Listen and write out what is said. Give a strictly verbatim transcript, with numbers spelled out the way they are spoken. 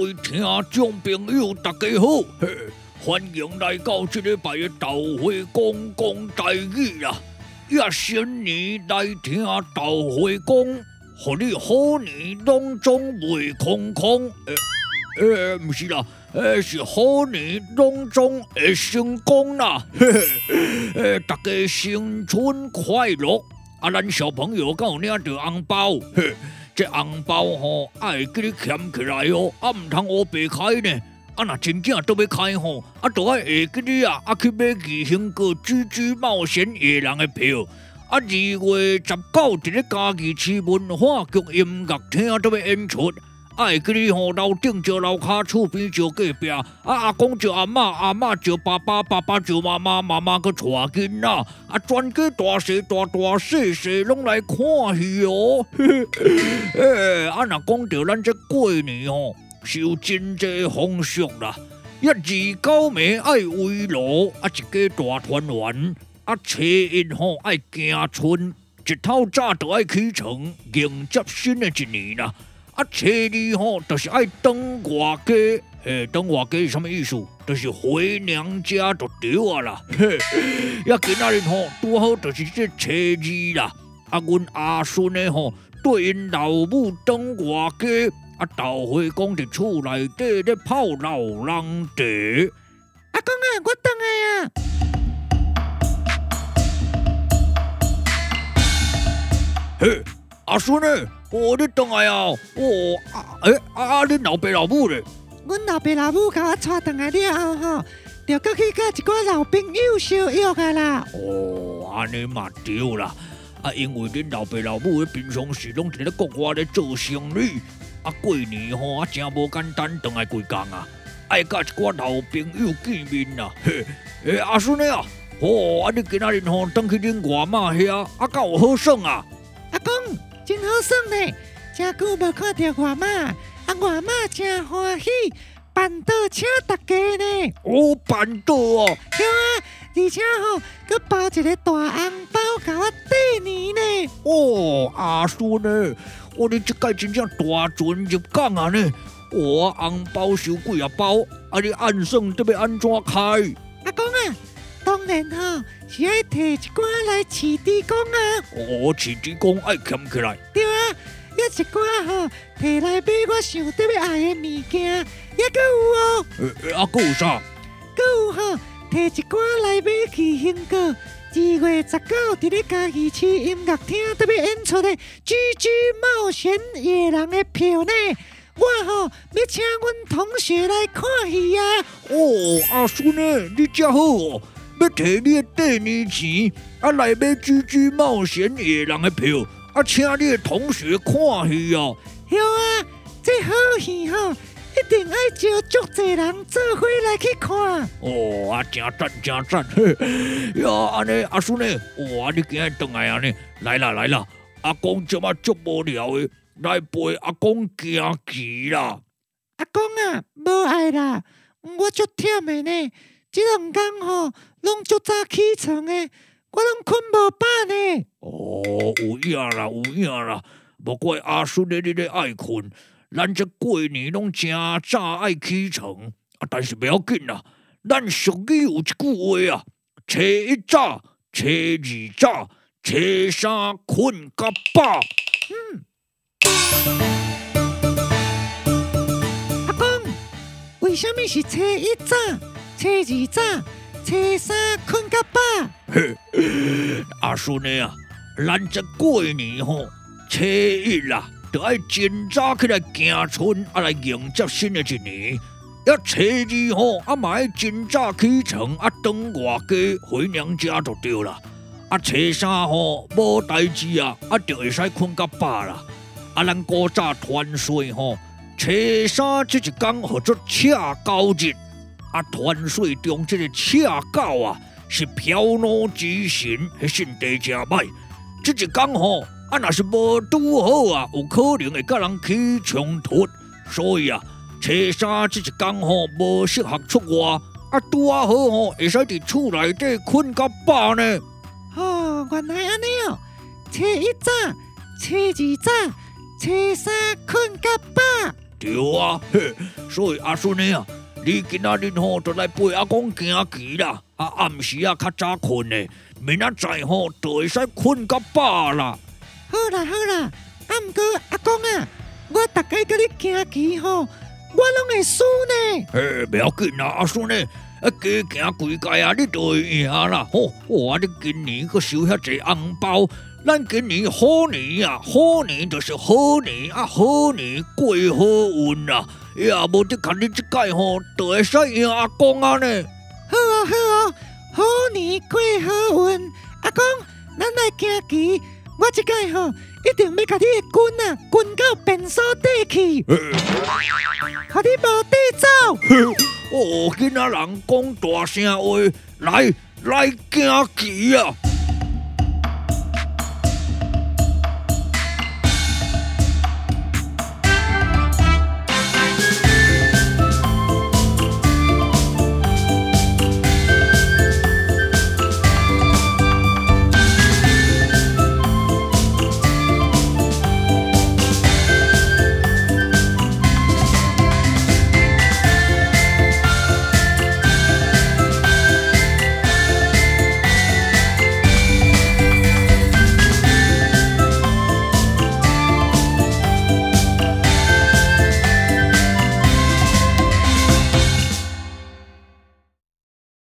位聽眾朋友，大家好，嘿，歡迎來到這禮拜的鬥會公公台語啦！也新年來聽鬥會公，互你好年攏總袂空空。誒誒，不是啦，誒是好年攏總會成功啦！嘿嘿，誒大家新春快樂！啊，咱小朋友敢有領到紅包？嘿。這紅包吼，愛給你儉起來哦，啊，唔通烏白開呢。啊，若真正都要開吼，啊，都愛下給你啊，啊去買義興個豬豬冒險野人的票。啊，二月十九佇咧嘉義市文化局音樂廳都要演出，愛給你吼樓頂招樓骹，厝邊招隔壁，啊阿公招阿嬤，阿嬤招爸爸，爸爸招媽媽，媽媽個帶囡仔，啊全家大細大大細細攏來看戲哦。誒，啊若講到咱這過年吼，是有真濟風俗啦。一二九暝愛圍爐，啊一家大團圓，啊初一吼愛行春，一透早就愛起床迎接新的一年啦。啊，初二吼，就是愛登外家，誒，登外家是什麼意思？就是回娘家就對啊啦。嘿，也今仔日吼，拄好就是這初二啦。啊，阮阿孫呢吼，對因老母登外家，啊，鬥會公佇厝內底咧泡老人茶。 阿公啊，我回來啊！ 嘿，阿孫呢？哦，你回來啊！哦，啊，誒、欸，啊啊，恁老爸老母咧？ 阮老爸老母甲我帶回來了後吼，就過去甲一寡老朋友相約啊啦。 哦，安尼嘛對啦。啊，因為恁老爸老母咧平常時攏佇咧國外咧做生意，啊過年吼啊真無簡單，回來幾工啊，愛甲一寡老朋友見面啦。嘿，誒、欸，阿孫呢啊？哦，啊你今仔日吼轉去恁外媽遐，啊敢有好耍啊？ 阿公。真好耍呢，真久無看到外媽，啊外媽真歡喜，辦桌請大家呢。 哦，辦桌哦。 對啊，而且吼，佮包一個大紅包甲我過年呢。 哦，阿孫呢，我你這屆真正大船入港啊呢。我紅包收幾啊包，啊你按算得要安怎開？ 阿公啊，當然吼。是愛摕一寡來飼豬公啊！ 哦，飼豬公愛儉起來。 對啊，抑一寡吼摕來買我想得要愛的物件，抑閣有哦。 誒誒，啊，閣有啥？ 閣有吼摕一寡來買義興個二月十九佇咧嘉義市音樂廳特別演出的《豬豬冒險野人》的票呢。我吼要請阮同學來看戲啊！ 哦，阿孫呢，你真好哦。要摕你的過年錢，啊來買《豬豬冒險野人》的票，啊請你的同學看戲哦。 對啊，這好戲吼，一定愛招足濟人做伙來去看。 哦，啊真讚真讚，嘿，呀安尼阿孫呢？哇，你今日回來安尼，來啦來啦，阿公這麼足無聊的，來陪阿公行棋啦。 阿公啊，無愛啦，我足忝的呢。這兩天吼，攏足早起床的，我攏困無飽呢。 哦，有影啦，有影啦，無怪阿孫咧，你咧愛困。咱這過年攏真早愛起床，啊，但是不要緊啦。咱俗語有一句話啊，初一早，初二早，初三困甲飽。 嗯。阿公，為什麼是初一早？初二早，初三困甲飽。 嘿，阿孫的啊，咱這過年吼，初一啦，就愛真早起來行春，啊來迎接新的一年。要初二吼，啊嘛愛真早起床，啊轉外家回娘家就對啦。啊初三吼無代志啊，啊就會使困甲飽啦。啊咱古早傳說吼，初三這一天叫做赤狗日。啊，傳說中這個赤狗啊，是飄怒之神，迄性地真歹。這一天吼，啊，若是無拄好啊，有可能會甲人起衝突。所以啊，初三這一天吼，無適合出外。啊，拄啊好吼，會使佇厝內底困甲飽呢。 哦，原來安尼哦，初一早，初二早，初三困甲飽。 對啊，嘿，所以阿孫呢啊，你今仔日吼就來陪阿公行棋啦，啊暗時啊較早困呢，明仔載吼就會使困較飽啦。 好啦好啦，啊毋過阿公啊，我逐個甲你行棋吼，我攏會輸呢。 嘿，不要緊啦，阿孫呢，啊加行幾屆啊，你就會贏啦。吼，哇，你今年閣收遐濟紅包。咱今年好年啊，好年就是好年啊，好年過好運啦。也無得看你這屆吼，就會使贏阿公啊呢。 好哦好哦，好年過好運，阿公，咱來行棋，我這屆吼一定要甲你的棍啊，棍到便所底去，互你無地走。 哦，囡仔人講大聲話，來來行棋啊！